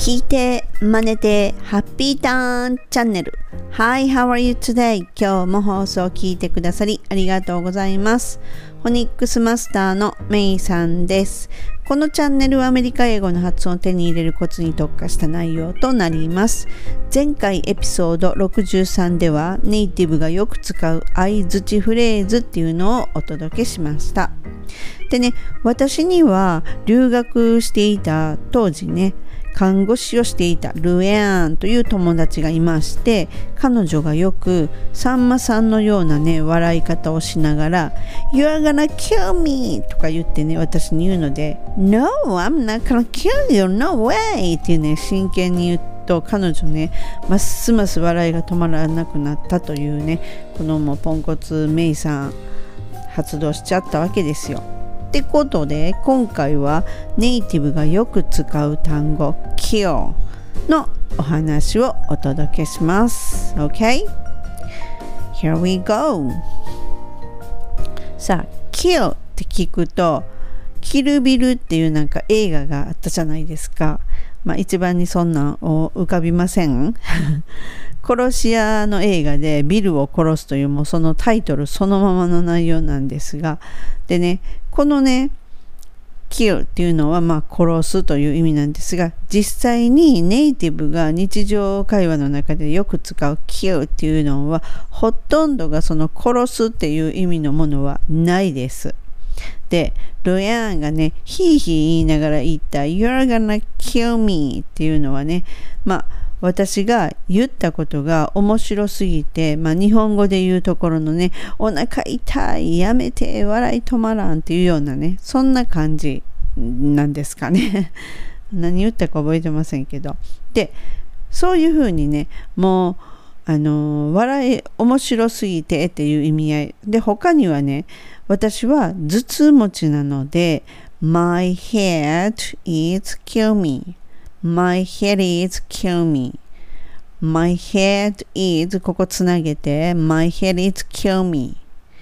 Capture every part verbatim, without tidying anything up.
聞いて、真似て、ハッピーターンチャンネル。Hi, how are you today? 今日も放送を聞いてくださりありがとうございます。フォニックスマスターのメイさんです。このチャンネルはアメリカ英語の発音を手に入れるコツに特化した内容となります。前回エピソードろくじゅうさんではネイティブがよく使う相槌フレーズっていうのをお届けしました。でね、私には留学していた当時ね、看護師をしていたルエアンという友達がいまして、彼女がよくさんまさんのようなね笑い方をしながら You're gonna kill me とか言ってね私に言うので No, I'm not gonna kill you, no way っていうね真剣に言うと彼女ねますます笑いが止まらなくなったというねこのもうポンコツメイさん発動しちゃったわけですよ。ってことで今回はネイティブがよく使う単語 kill のお話をお届けします。 OK? Here we go. さあ kill って聞くとキルビルっていうなんか映画があったじゃないですか。まあ一番にそんなんを浮かびません殺し屋の映画でビルを殺すというもうそのタイトルそのままの内容なんですが、でねこのね kill っていうのはまあ殺すという意味なんですが、実際にネイティブが日常会話の中でよく使う kill っていうのはほとんどがその殺すっていう意味のものはないです。でルエアンがねヒーヒー言いながら言った You're gonna kill me っていうのはねまあ私が言ったことが面白すぎて、まあ、日本語で言うところのねお腹痛いやめて笑い止まらんっていうようなねそんな感じなんですかね何言ったか覚えてませんけど、でそういうふうにねもうあの笑い面白すぎてっていう意味合いで、他にはね私は頭痛持ちなので My head is kill me My head is kill me My head is ここつなげて My head is kill me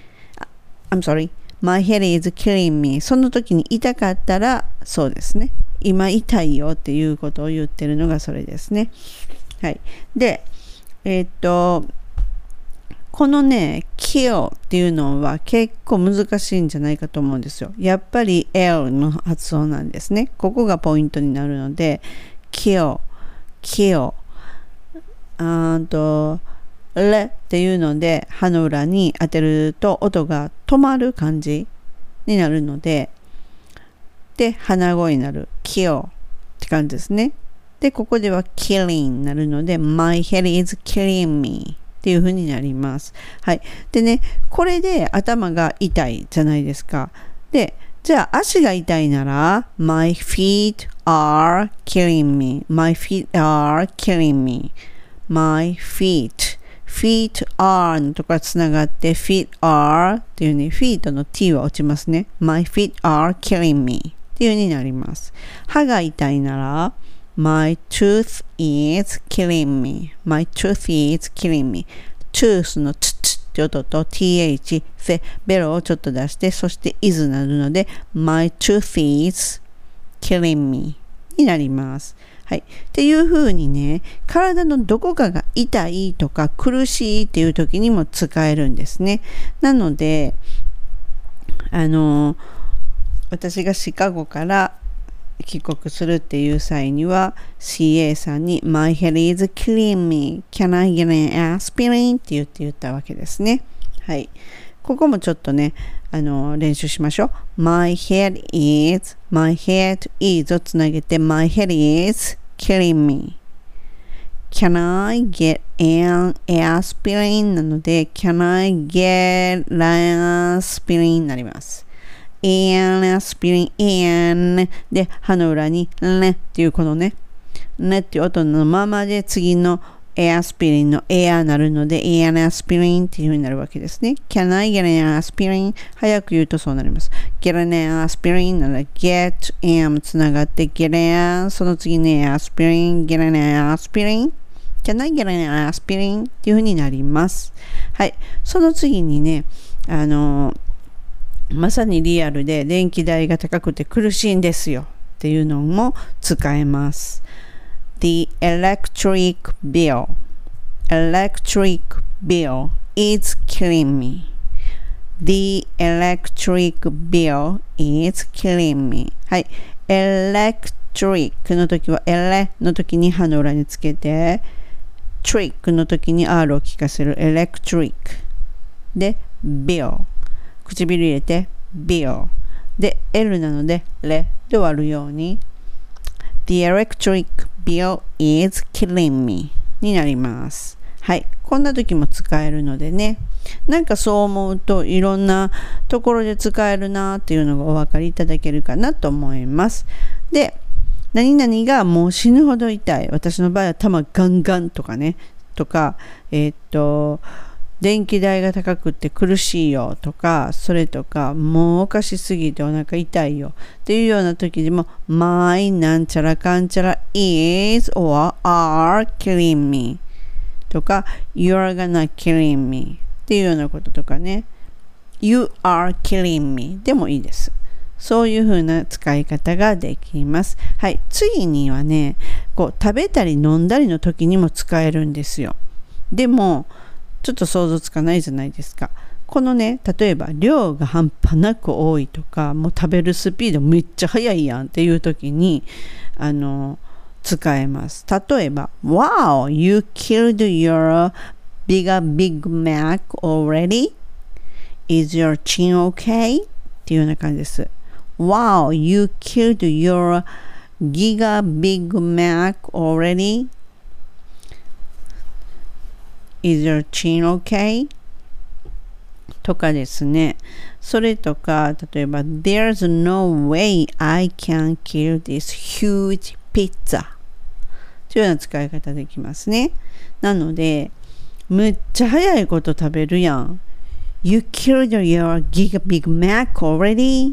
I'm sorry My head is killing me その時に痛かったらそうですね今痛いよっていうことを言ってるのがそれですね。はいでえー、っとこのね kill っていうのは結構難しいんじゃないかと思うんですよ。やっぱり L の発音なんですね。ここがポイントになるので kill kill あとレっていうので歯の裏に当てると音が止まる感じになるので、で鼻声になる kill って感じですね。でここでは killing になるので My head is killing meっていう風になります。はい。でね、これで頭が痛いじゃないですか。で、じゃあ足が痛いなら My feet are killing me. My feet are killing me. My feet. feet are のところがつながって feet are っていうね、feet の t は落ちますね。My feet are killing me っていう風になります。歯が痛いならMy tooth is killing me. My tooth is killing me. tooth のつつって音と th でベロをちょっと出してそして is になるので My tooth is killing me になります。はい。っていう風にね、体のどこかが痛いとか苦しいっていう時にも使えるんですね。なので、あの、私がシカゴから帰国するっていう際には シーエー さんに My head is killing me. Can I get an aspirin? って言って言ったわけですね。はい。ここもちょっとね、あの練習しましょう。My head is My head is をつなげて My head is killing me. Can I get an aspirin? なので Can I get an aspirin? になります。an aspirin an で歯の裏にねっていうこのねねっていう音のままで次のエアスピリンのエアになるので an aspirin っていう風になるわけですね。 Can I get an aspirin? 早く言うとそうなります。 get an aspirin なら get am つながって get an その次に aspirin get an aspirin Can I get an aspirin? っていう風になります。はい。その次にねあのまさにリアルで電気代が高くて苦しいんですよっていうのも使えます。 The electric bill electric bill is killing me. The electric bill is killing me. はい。electric の時は ele の時に歯の裏につけて trick の時に R を聞かせる electric で bill 唇入れて bill で L なので le で終わるように The electric bill is killing me になります。はい。こんな時も使えるのでね。なんかそう思うといろんなところで使えるなっていうのがお分かりいただけるかなと思います。で、何々がもう死ぬほど痛い。私の場合は頭ガンガンとかね。とか、えー、っと、電気代が高くって苦しいよとか、それとか、もうおかしすぎてお腹痛いよっていうような時でも、my なんちゃらかんちゃら is or are killing me とか、you're gonna killing me っていうようなこととかね、you are killing me でもいいです。そういう風な使い方ができます。はい。次にはね、こう食べたり飲んだりの時にも使えるんですよ。でも、ちょっと想像つかないじゃないですか。このね、例えば量が半端なく多いとか、もう食べるスピードめっちゃ速いやんっていう時に、あの、使えます。例えば、Wow, you killed your bigger Big Mac already? Is your chin okay? っていうような感じです。Wow, you killed your Giga Big Mac already? Is your chin okay? とかですね。それとか、例えば There's no way I can kill this huge pizza というような使い方できますね。なので、むっちゃ早いこと食べるやん。You killed your Giga Big Mac already?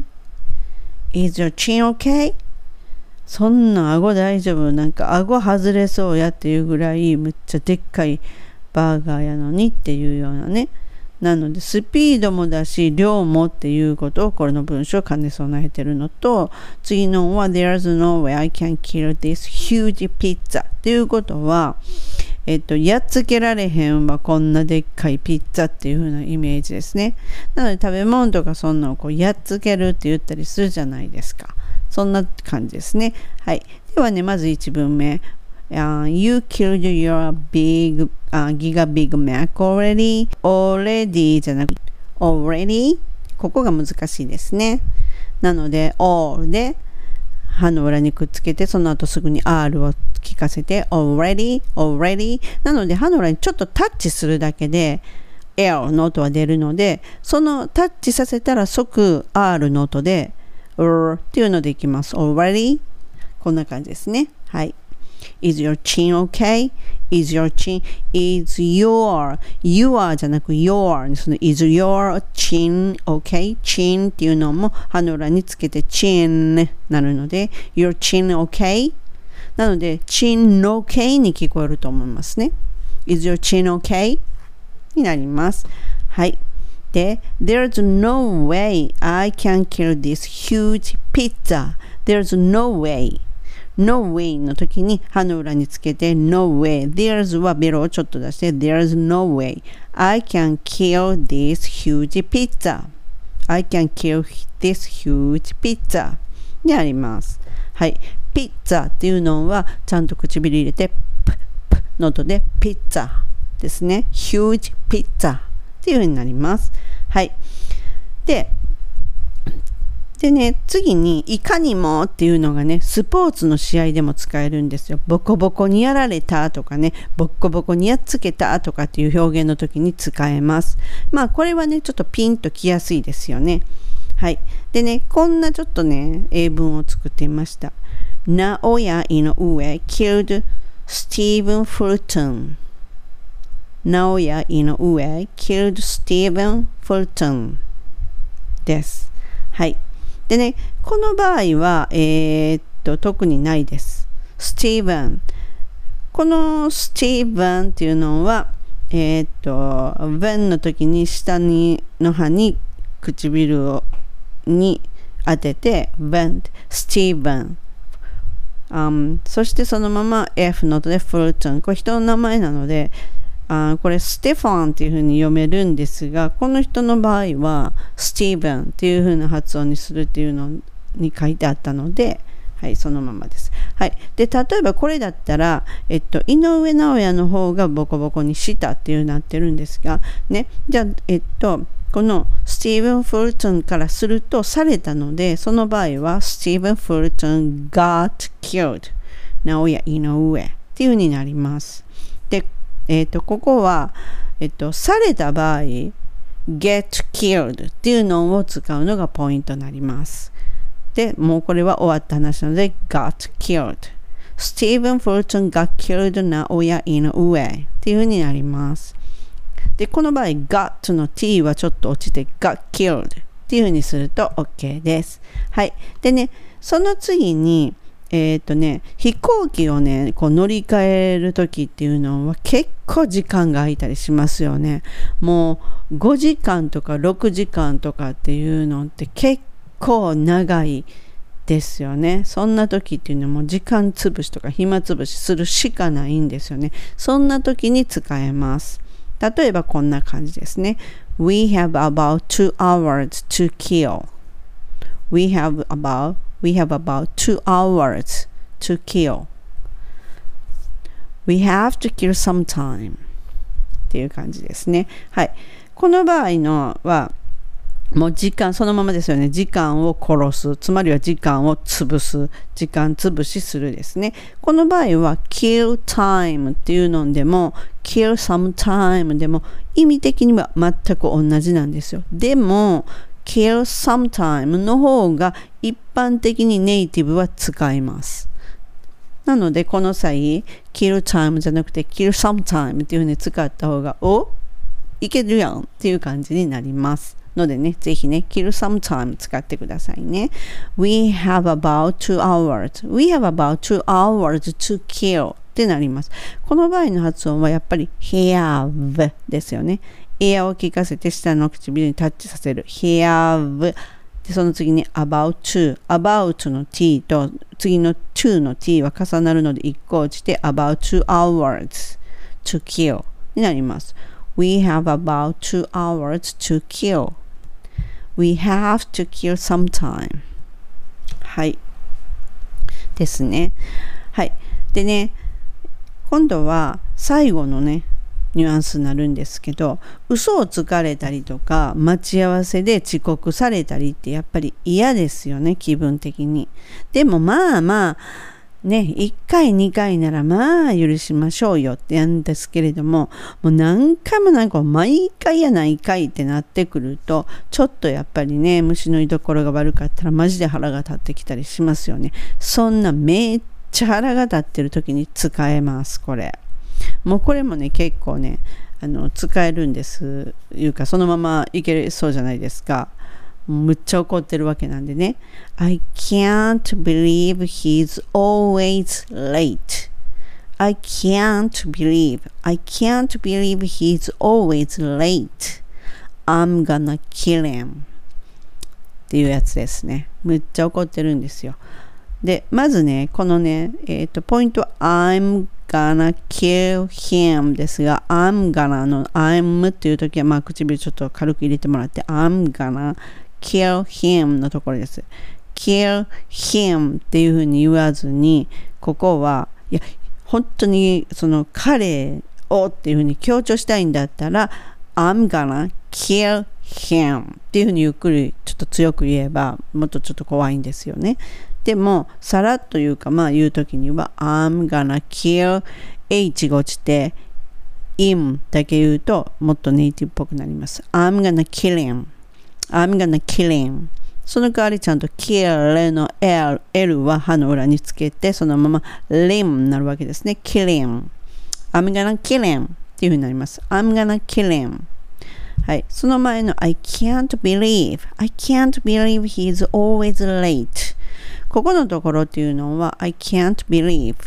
Is your chin okay? そんな顎大丈夫？なんか顎外れそうやっていうぐらいむっちゃでっかいバーガーやのにっていうようなね。なのでスピードもだし量もっていうことをこれの文章を兼ね備えてるのと、次のは There's no way I can kill this huge pizza っていうことは、えっと、やっつけられへんわこんなでっかいピッツァっていう風なイメージですね。なので食べ物とかそんなのをこうやっつけるって言ったりするじゃないですか。そんな感じですね。はい。ではね、まずいち文目。Uh, you killed your big, uh, Giga Big Mac already. Already じゃなくて already ここが難しいですね。なので all で歯の裏にくっつけてその後すぐに R を聞かせて already, already なので歯の裏にちょっとタッチするだけで L の音は出るので、そのタッチさせたら即 R の音で R っていうのでいきます。already こんな感じですね。はい。Is your chin okay? Is your chin, is your, your じゃなく your その is your chin okay? chin っていうのも歯の裏につけて chin なるので your chin okay? なので chin okay に聞こえると思いますね。Is your chin okay? になります。はい。で There's no way I can kill this huge pizza. There's no way.No way の時に歯の裏につけて No way There's はベロをちょっと出して There's no way I can kill this huge pizza I can kill this huge pizza にあります。はい。ピッツァっていうのはちゃんと唇入れてプップの音でピッツァですね。huge pizza っていう風になります。はい。ででね、次にいかにもっていうのがね、スポーツの試合でも使えるんですよ。ボコボコにやられたとかね、ボコボコにやっつけたとかっていう表現の時に使えます。まあこれはね、ちょっとピンときやすいですよね。はい。でね、こんなちょっとね、英文を作ってみました。ナオヤイノウエ killed Stephen Fulton。ナオヤイノウエ killed Stephen Fulton です。はい。でね、この場合は、えー、っと、特にないです。スティーブン。このスティーブンっていうのは、えー、っと、when の時に下にの歯に唇をに当てて、when、スティーブン。 Um, そしてそのまま F の音でフルトン。これ人の名前なので、あこれステファンっていう風に読めるんですが、この人の場合はスティーブンっていう風な発音にするっていうのに書いてあったので、はい、そのままです。はい。で、例えばこれだったら、えっと、井上尚弥の方がボコボコにしたっていうなってるんですが、ね、じゃあ、えっと、このスティーブン・フルトンからするとされたので、その場合はスティーブン・フルトン got killed 直哉井上っていう風になります。で、えっと、ここは、えっと、された場合 get killed っていうのを使うのがポイントになります。で、もうこれは終わった話なので got killed スティーブン・フルトン got killed 直哉井上っていう風になります。で、この場合 got の t はちょっと落ちて got killed っていう風にすると OK です。はい。でね、その次にえっとね、飛行機をね、こう乗り換えるときっていうのは結構時間が空いたりしますよね。もうごじかんとかろくじかんとかっていうのって結構長いですよね。そんな時っていうのはもう時間つぶしとか暇つぶしするしかないんですよね。そんな時に使えます。例えばこんな感じですね。We have about two hours to kill. We have about We have about two hours to kill. We have to kill some time. っていう感じですね。はい。この場合のは、もう時間、そのままですよね。時間を殺す。つまりは時間を潰す。時間潰しするですね。この場合は kill time っていうのでも kill some time でも意味的には全く同じなんですよ。でもkill sometime の方が一般的にネイティブは使います。なのでこの際 kill time じゃなくて kill sometime っていう風に使った方がおいけるやんっていう感じになりますのでね、ぜひね kill sometime 使ってくださいね。 We have about two hours We have about two hours to kill ってなります。この場合の発音はやっぱり have ですよね。エアを聞かせて下の唇にタッチさせる have で、その次に about to about の t と次の to の t は重なるので一個落ちて about two hours to kill になります。 We have about two hours to kill We have to kill some time はいですね。はいでね、今度は最後のねニュアンスになるんですけど、嘘をつかれたりとか待ち合わせで遅刻されたりってやっぱり嫌ですよね、気分的に。でもまあまあね、いっかいにかいならまあ許しましょうよってやるんですけれども、もう何回もなんか毎回やないかいってなってくるとちょっとやっぱりね、虫の居所が悪かったらマジで腹が立ってきたりしますよね。そんなめっちゃ腹が立ってる時に使えますこれ。もうこれもね結構ねあの使えるんですいうか、そのままいけそうじゃないですか。むっちゃ怒ってるわけなんでね。 I can't believe he's always late I can't believe I can't believe he's always late I'm gonna kill him っていうやつですね。むっちゃ怒ってるんですよ。でまずねこのねえっとポイントは I'm gonna kill him ですが、 I'm gonna の I'm っていう時はまあ唇ちょっと軽く入れてもらって I'm gonna kill him のところです。 kill him っていう風に言わずに、ここはいや本当にその彼をっていう風に強調したいんだったら I'm gonna kill him っていう風にゆっくりちょっと強く言えばもっとちょっと怖いんですよね。でもさらっと言うかまあ言うときには I'm gonna kill H が落ちて him だけ言うともっとネイティブっぽくなります。 I'm gonna kill him I'm gonna kill him その代わりちゃんと kill の L, L は歯の裏につけてそのまま lim になるわけですね。 kill him I'm gonna kill him っていう風になります。 I'm gonna kill him。はい、その前の I can't believe I can't believe he's always late。ここのところっていうのは I can't believe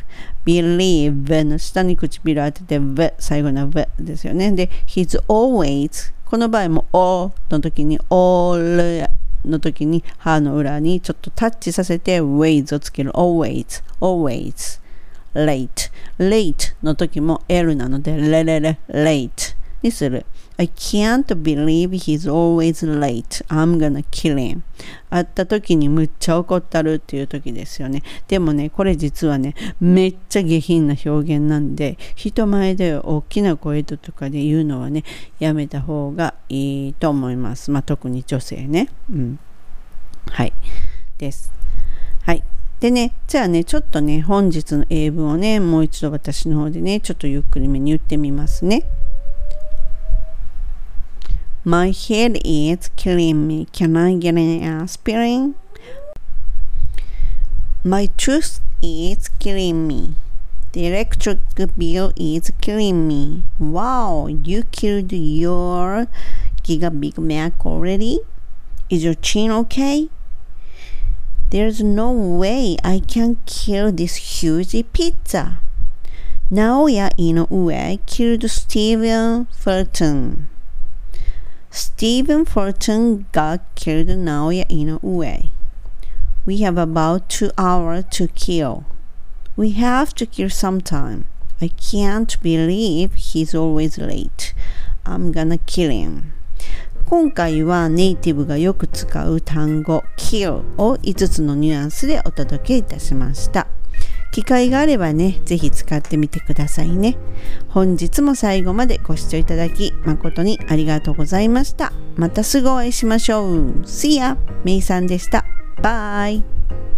believe の下に唇当てて v 最後の v ですよね。で he's always この場合も all の時に all の時に歯の裏にちょっとタッチさせて ways をつける。always, always, late, late の時も L なのでレレレ late にする。I can't believe he's always late. I'm gonna kill him. 会った時にむっちゃ怒ったるっていう時ですよね。でもね、これ実はね、めっちゃ下品な表現なんで、人前で大きな声とかで言うのはね、やめた方がいいと思います。まあ特に女性ね。うん。はい。です。はい。でね、じゃあね、ちょっとね、本日の英文をね、もう一度私の方でね、ちょっとゆっくりめに言ってみますね。My head is killing me. Can I get an aspirin? My tooth is killing me. The electric bill is killing me. Wow, you killed your Giga Big Mac already? Is your chin okay? There's no way I can kill this huge pizza. Naoya Inoue killed Stephen Fulton.Stephen Fulton got killed Naoya Inoue. We have about two hours to kill. We have to kill sometime. I can't believe he's always late. I'm gonna kill him. 今回はネイティブがよく使う単語 kill をいつつのニュアンスでお届けいたしました。機会があればね、ぜひ使ってみてくださいね。本日も最後までご視聴いただき誠にありがとうございました。またすぐお会いしましょう。See ya! めいさんでした。バイ。